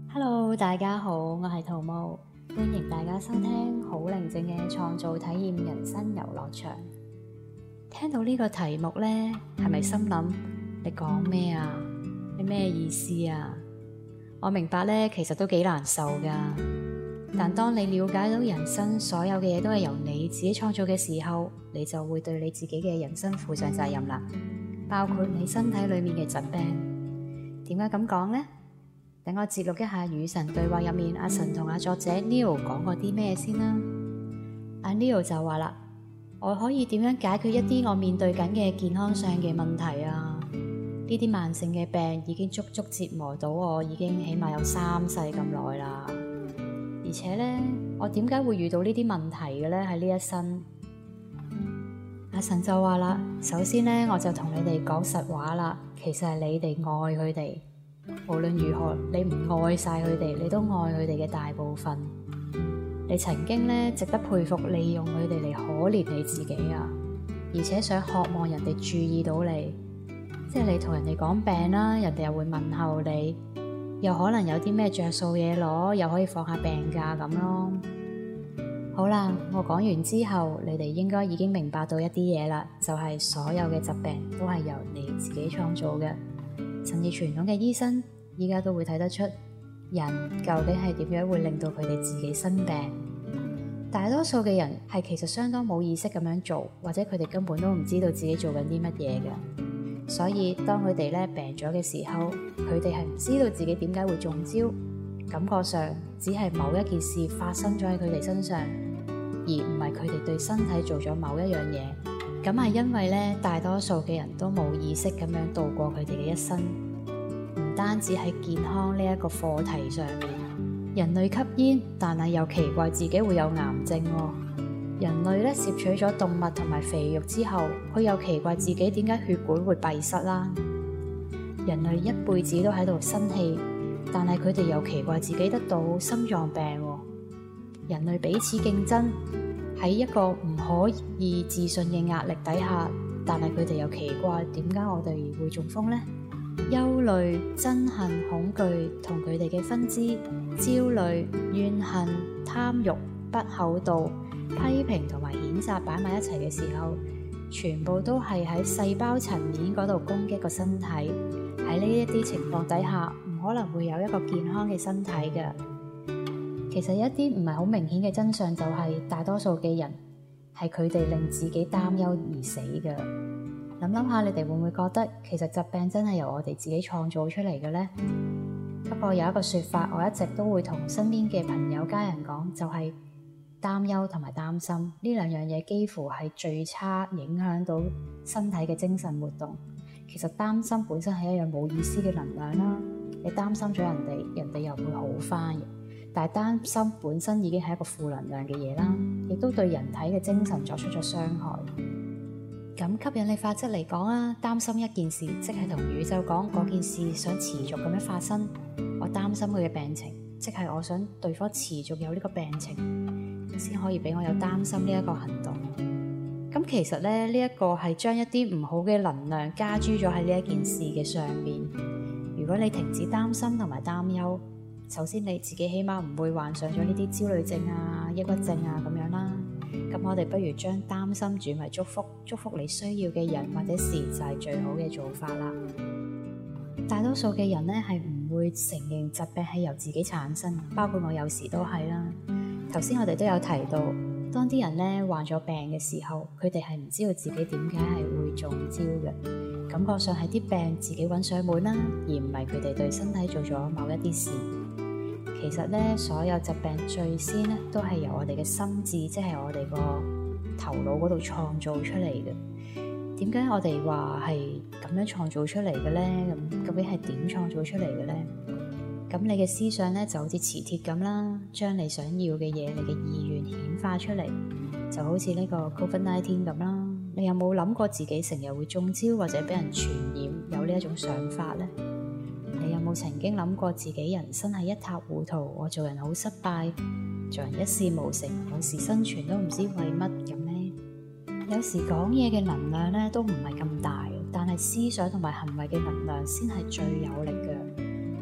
Hello，大家好，我係桃木，歡迎大家收聽好寧靜嘅創造體驗人生遊樂場。聽到呢個題目呢，係咪心諗你講咩啊？你咩意思啊？我明白呢，其實都幾難受噶。但當你了解到人生所有嘅嘢都係由你自己創造嘅時候，你就會對你自己嘅人生負上責任啦，包括你身體裏面嘅疾病。點解咁講呢？等我節錄一下與神對話入面阿神同阿作者 Neil 講過啲咩先啦。阿 Neil 就話啦，我可以點樣解決一啲我面對緊嘅健康上嘅問題啊？呢啲慢性嘅病已經足足折磨到我，已經起碼有3世咁耐啦。而且呢，我點解會遇到呢啲問題嘅呢？喺呢一生，阿神就話啦，首先呢，我就同你哋講實話啦，其實係你哋愛佢哋。無論如何，你唔愛晒佢哋，你都愛佢哋嘅大部分。你曾經呢，值得佩服，利用佢哋嚟可憐你自己啊，而且想渴望人哋注意到你，即係你同人哋講病啦，人哋又會問候你，又可能有啲咩着數嘢攞，又可以放下病假咁咯。好啦，我講完之後，你哋應該已經明白到一啲嘢啦，就係所有嘅疾病都係由你自己創造嘅。甚至傳統嘅醫生依家都會睇得出人究竟係點樣會令到佢哋自己生病。大多數嘅人係其實相當冇意識咁樣做，或者佢哋根本都唔知道自己做緊啲乜嘢嘅。所以當佢哋病咗嘅時候，佢哋係唔知道自己點解會中招，感覺上只係某一件事發生咗喺佢哋身上，而唔係佢哋對身體做咗某一樣嘢。咁係因為大多數嘅人都冇意識咁樣度過佢哋嘅一生，唔單止喺健康呢一個課題上面，人類吸煙，但係又奇怪自己會有癌症喎。人類攝取咗動物同埋肥肉之後，佢又奇怪自己點解血管會閉塞啦。人類一輩子都喺度生氣，但係佢哋又奇怪自己得到心臟病喎。人類彼此競爭，喺一個唔可以置信嘅壓力底下，但係佢哋又奇怪點解我哋會中風呢？憂慮、憎恨、恐懼同佢哋嘅分支，焦慮、怨恨、貪慾、不厚道、批評同埋譴責擺埋一齊嘅時候，全部都係喺細胞層面嗰度攻擊個身體。喺呢一啲情況底下，唔可能會有一個健康嘅身體嘅。其實一啲唔係好明顯嘅真相就係，大多數嘅人係佢哋令自己擔憂而死嘅。諗下，你哋會唔會覺得其實疾病真係由我哋自己創造出嚟嘅呢？不過有一個說法，我一直都會同身邊嘅朋友家人講，就係擔憂同埋擔心呢兩樣嘢幾乎係最差影響到身體嘅精神活動。其實擔心本身係一樣冇意思嘅能量啦，你擔心咗人哋，人哋又會好返嘅。但係擔心本身已經係一個負能量嘅嘢啦，亦都對人體嘅精神作出咗傷害。咁吸引力法則嚟講啊，擔心一件事，即係同宇宙講嗰件事想持續咁樣發生。我擔心佢嘅病情，即係我想對方持續有呢個病情，先可以俾我有擔心呢一個行動。咁其實呢一個係將一啲唔好嘅能量加諸咗喺呢一件事嘅上面。如果你停止擔心同埋擔憂，首先你自己起碼唔會患上咗呢啲焦慮症啊、抑鬱症啊咁樣啦。咁我哋不如將擔心轉為祝福，祝福你需要嘅人或者事就係最好嘅做法啦。大多數嘅人係唔會承認疾病係由自己產生，包括我有時都係啦。頭先我哋都有提到，當啲人患咗病嘅時候，佢哋係唔知道自己點解係會中招嘅，感覺上係啲病自己揾上門啦，而唔係佢哋對身體做咗某一啲事。其實所有疾病最先都係由我哋嘅心智，即係我哋個頭腦嗰度創造出嚟嘅。點解我哋話係咁樣創造出嚟嘅呢？咁究竟係點創造出嚟嘅呢？咁你嘅思想就好似磁鐵咁啦，將你想要嘅嘢，你嘅意願顯化出嚟，就好似呢個 COVID-19 咁啦。你有冇諗過自己成日會中招或者俾人傳染，有呢一種想法呢？你有冇曾經諗過自己人生係一塌糊塗，我做人好失敗，做人一事無成，有時生存都唔知為乜咁呢？有時講嘢嘅能量都唔係咁大，但係思想同埋行為嘅能量先係最有力嘅。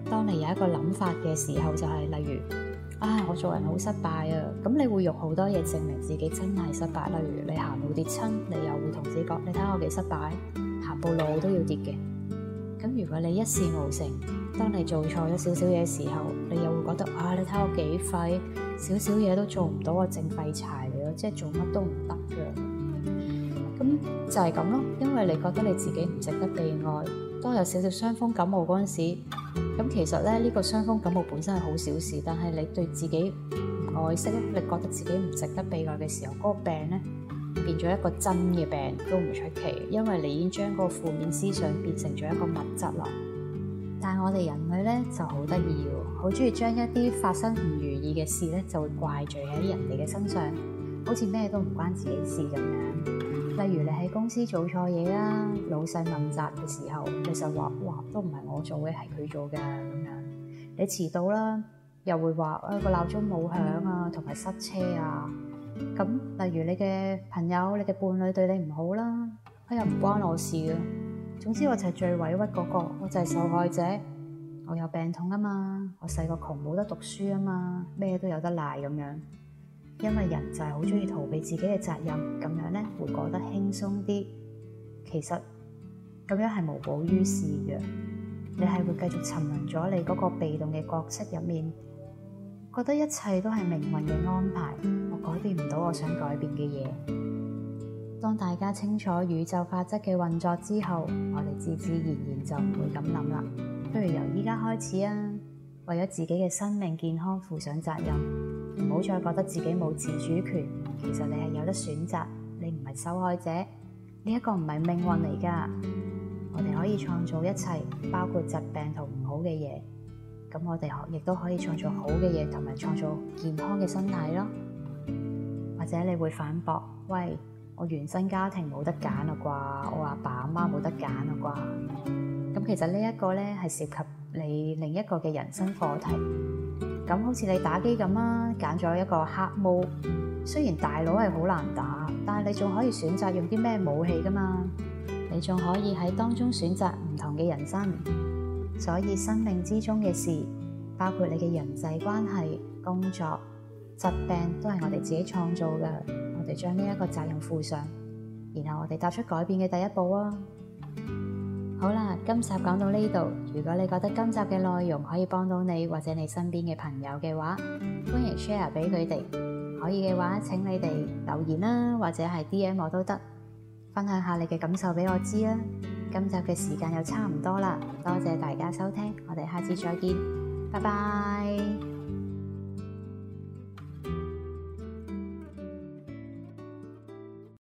當你有一個諗法嘅時候，就係例如我做人好失敗啊，咁你會用好多嘢證明自己真係失敗。例如你行路跌親，你又會同自己講：你睇下我幾失敗，行步路都要跌嘅。咁如果你一事無成，當你做錯咗少少嘢嘅時候，你又會覺得你睇我幾廢，少少嘢都做唔到，我淨廢柴嚟咯，即係做乜都唔得嘅。咁就係咁咯，因為你覺得你自己唔值得被愛。當有少少傷風感冒嗰陣時，咁其實咧呢個傷風感冒本身係好小事，但係你對自己唔愛惜咧，你覺得自己唔值得被愛嘅時候，嗰個病咧變咗一個真嘅病都唔出奇，因為你已經將嗰個負面思想變成咗一個物質啦。但係我哋人類咧就好得意喎，好中意將一啲發生唔如意嘅事咧就會怪罪喺人哋嘅身上，好似咩都唔關自己事咁樣。例如你喺公司做錯嘢啦，老細問責嘅時候，你就話：哇，都唔係我做嘅，係佢做嘅咁樣。你遲到啦，又會話個鬧鐘冇響啊，同埋塞車啊。咁例如你嘅朋友、你嘅伴侶對你唔好啦，又唔關我事嘅。總之我就係最委屈嗰個，我就係受害者。我有病痛啊嘛，我細個窮冇得讀書啊嘛，咩都有得賴咁樣。因為人就係好中意逃避自己嘅責任，咁樣咧會過得輕鬆啲。其實咁樣係無補於事嘅，你係會繼續沉淪咗你嗰個被動嘅角色入面，覺得一切都係命運嘅安排，我改變唔到我想改變嘅嘢。當大家清楚宇宙法則嘅運作之後，我哋自自然然就唔會咁諗啦。不如由依家開始啊，為咗自己嘅生命健康負上責任，唔好再覺得自己冇自主權。其實你係有得選擇，你唔係受害者，呢一個唔係命運嚟㗎。我哋可以創造一切，包括疾病同唔好嘅嘢。咁我哋亦都可以創造好嘅嘢，同埋創造健康嘅身體咯。或者你會反駁：喂，我原生家庭冇得揀啦啩，我阿爸阿媽冇得揀啦啩。咁其實呢一個咧係涉及你另一個嘅人生課題。咁好似你打機咁啦，揀咗一個黑毛，雖然大佬係好難打，但係你仲可以選擇用啲咩武器噶嘛？你仲可以喺當中選擇唔同嘅人生。所以生命之中嘅事，包括你嘅人際關係、工作、疾病，都係我哋自己創造嘅。我哋將呢一個責任負上，然後我哋踏出改變嘅第一步啊！好啦，今集講到呢度。如果你覺得今集嘅內容可以幫到你或者你身邊嘅朋友嘅話，歡迎 share 俾佢哋。可以嘅話，請你哋留言啦，或者係 DM 我都得，分享下你嘅感受俾我知啦。今集嘅時間又差唔多啦，多謝大家收聽，我哋下次再見，拜拜。